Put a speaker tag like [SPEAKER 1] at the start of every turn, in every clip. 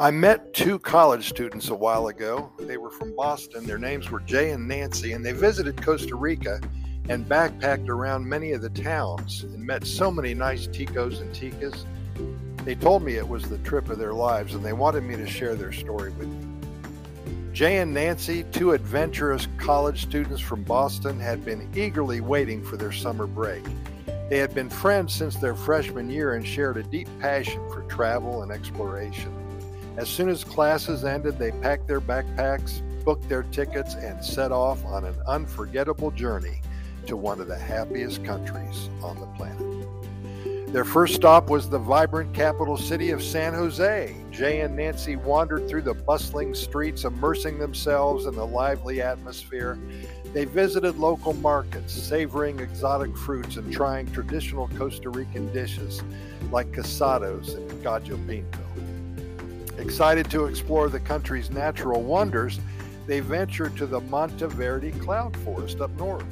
[SPEAKER 1] I met two college students a while ago. They were from Boston. Their names were Jay and Nancy, and they visited Costa Rica and backpacked around many of the towns and met so many nice ticos and ticas. They told me it was the trip of their lives, and they wanted me to share their story with you. Jay and Nancy, two adventurous college students from Boston, had been eagerly waiting for their summer break. They had been friends since their freshman year and shared a deep passion for travel and exploration. As soon as classes ended, they packed their backpacks, booked their tickets, and set off on an unforgettable journey to one of the happiest countries on the planet. Their first stop was the vibrant capital city of San Jose. Jay and Nancy wandered through the bustling streets, immersing themselves in the lively atmosphere. They visited local markets, savoring exotic fruits and trying traditional Costa Rican dishes like casados and gallo pinto. Excited to explore the country's natural wonders, they ventured to the Monteverde cloud forest up north.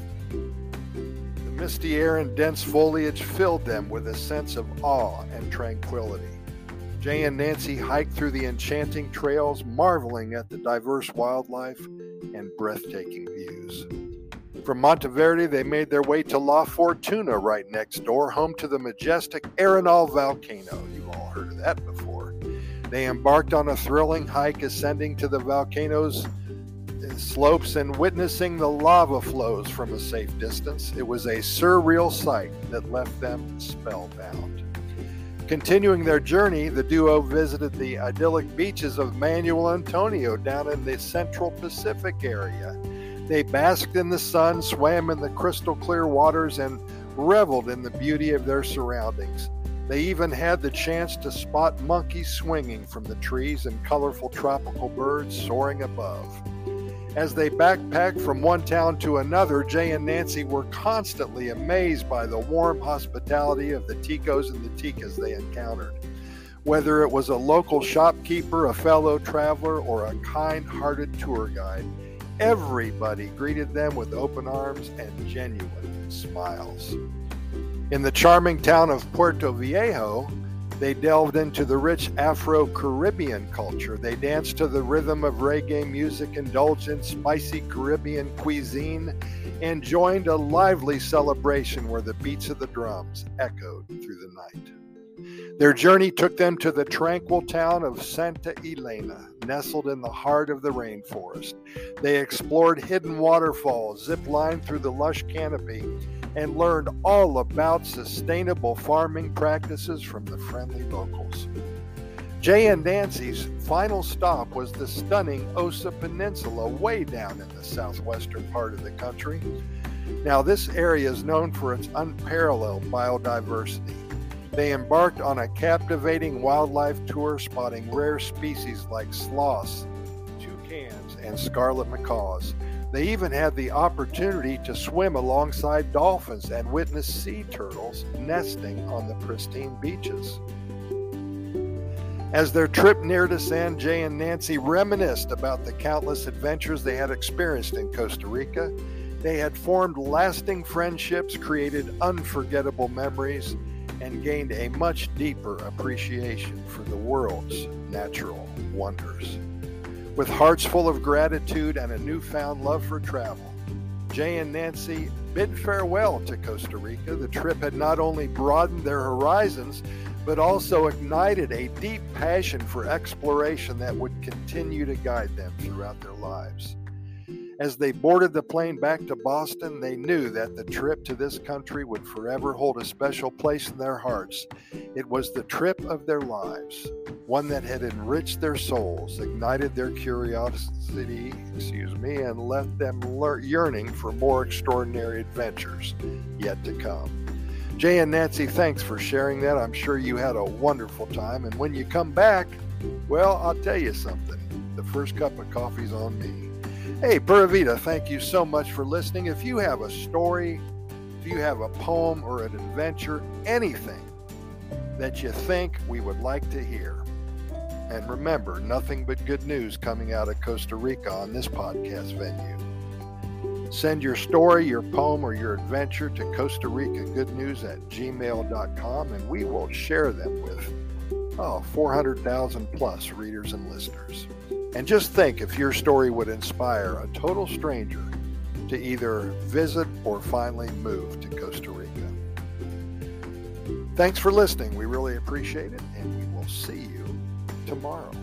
[SPEAKER 1] The misty air and dense foliage filled them with a sense of awe and tranquility. Jay and Nancy hiked through the enchanting trails, marveling at the diverse wildlife and breathtaking views. From Monteverde, they made their way to La Fortuna, right next door, home to the majestic Arenal volcano. You've all heard of that before. They embarked on a thrilling hike, ascending to the volcano's slopes and witnessing the lava flows from a safe distance. It was a surreal sight that left them spellbound. Continuing their journey, the duo visited the idyllic beaches of Manuel Antonio down in the Central Pacific area. They basked in the sun, swam in the crystal clear waters, and reveled in the beauty of their surroundings. They even had the chance to spot monkeys swinging from the trees and colorful tropical birds soaring above. As they backpacked from one town to another, Jay and Nancy were constantly amazed by the warm hospitality of the ticos and the ticas they encountered. Whether it was a local shopkeeper, a fellow traveler, or a kind-hearted tour guide, everybody greeted them with open arms and genuine smiles. In the charming town of Puerto Viejo, they delved into the rich Afro-Caribbean culture. They danced to the rhythm of reggae music, indulged in spicy Caribbean cuisine, and joined a lively celebration where the beats of the drums echoed through the night. Their journey took them to the tranquil town of Santa Elena, nestled in the heart of the rainforest. They explored hidden waterfalls, zip-lined through the lush canopy, and learned all about sustainable farming practices from the friendly locals. Jay and Nancy's final stop was the stunning Osa Peninsula, way down in the southwestern part of the country. Now, this area is known for its unparalleled biodiversity. They embarked on a captivating wildlife tour, spotting rare species like sloths, toucans, and scarlet macaws. They even had the opportunity to swim alongside dolphins and witness sea turtles nesting on the pristine beaches. As their trip neared its end, Jay and Nancy reminisced about the countless adventures they had experienced in Costa Rica. They had formed lasting friendships, created unforgettable memories, and gained a much deeper appreciation for the world's natural wonders. With hearts full of gratitude and a newfound love for travel, Jay and Nancy bid farewell to Costa Rica. The trip had not only broadened their horizons, but also ignited a deep passion for exploration that would continue to guide them throughout their lives. As they boarded the plane back to Boston, they knew that the trip to this country would forever hold a special place in their hearts. It was the trip of their lives, one that had enriched their souls, ignited their curiosity, and left them yearning for more extraordinary adventures yet to come. Jay and Nancy, thanks for sharing that. I'm sure you had a wonderful time. And when you come back, well, I'll tell you something. The first cup of coffee's on me. Hey, Pura Vida, thank you so much for listening. If you have a story, if you have a poem or an adventure, anything that you think we would like to hear. And remember, nothing but good news coming out of Costa Rica on this podcast venue. Send your story, your poem, or your adventure to Costa Rica Good News at gmail.com, and we will share them with 400,000 plus readers and listeners. And just think if your story would inspire a total stranger to either visit or finally move to Costa Rica. Thanks for listening. We really appreciate it, and we will see you tomorrow.